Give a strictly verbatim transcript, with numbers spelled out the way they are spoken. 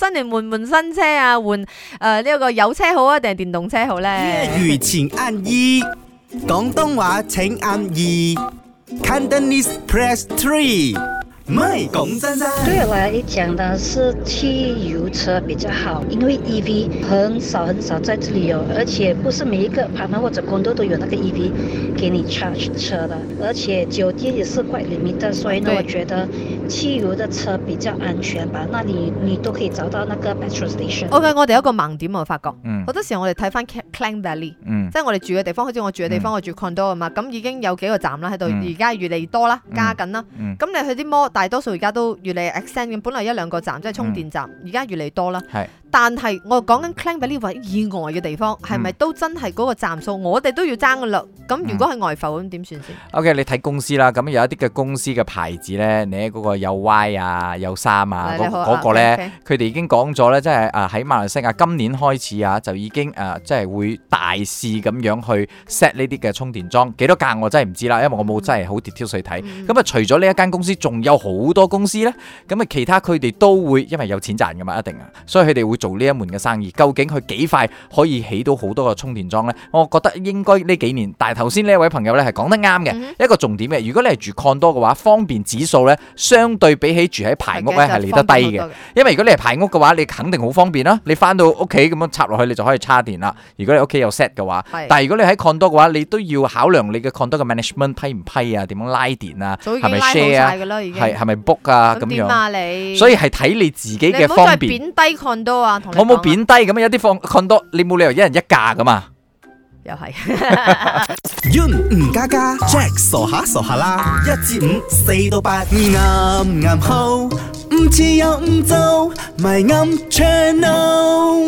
新年換換新車啊，換誒呢一個油車好啊，定係電動車好咧？ 粵語請按二，廣東話請按二 ，Cantonese press three。唔係講真真。 对我来讲呢，是汽油车比较好，因为 E V 很少很少在这里有，而且不是每一个apartment或者 condo 都有那个 E V 给你 charge 车的，而且酒店也是 quite limited， 所以呢，我觉得汽油的车比較安全吧。那你你都可以找到那個 petrol station。OK， 我哋有一個盲點我發覺，好、 嗯、 多時候我哋睇翻 Klang Valley，、嗯、即係我哋住嘅地方，好似我住嘅地方，嗯、我住 condo 啊嘛，咁已經有幾個站啦喺度，而、嗯、家越嚟越多啦，加緊啦。咁、嗯、你去啲 mall，大多數而家都越嚟 extend 嘅，本來一兩個站即係充電站，而、嗯、家越嚟越多啦。但係我講緊 Klang Valley 位以外嘅地方，係咪都真係嗰個站數？我哋都要爭噶啦。咁如果係外埠咁點算先 ？OK， 你睇公司啦。咁有一啲嘅公司嘅牌子咧，你喺嗰個有 Y 啊、有三啊嗰嗰、嗰個咧，佢哋已經講咗咧，即係誒喺馬來西亞今年開始啊，就已經誒即係會大肆咁樣去 set 呢啲嘅充電樁。幾多間我真係唔知啦，因為我冇真係好 detail 去睇。咁、嗯、啊，除咗呢一間公司，仲有好多公司咧。咁啊，其他佢哋都會因為有錢賺噶嘛，一定啊，所以佢哋會做呢一門嘅生意。究竟佢幾快可以起到好多個充電樁呢？我覺得應該呢幾年。但係頭先呢一位朋友咧係講得啱嘅、嗯，一個重點嘅。如果你係住 condo 嘅話，方便指數咧相對比起住喺排屋咧係嚟得低嘅。因為如果你係排屋嘅話，你肯定好方便啦。你翻到屋企咁樣插落去，你就可以插電啦。如果你屋企有 set 嘅話，但係如果你喺 condo 嘅話，你都要考量你嘅 condo 嘅 management 批唔批啊？點樣拉電啊？係咪 share 啊？係係咪 book 啊？咁樣。啊你所以係睇你自己嘅方便。 你唔好再貶低 condo 啊！同你我冇貶低咁有啲放 condo 你冇理由一人一架噶嘛。 又係。 Yun 吳家家 Jack 傻下傻下啦，一至五四到八，啱啱好，唔似又唔做，咪啱 channel。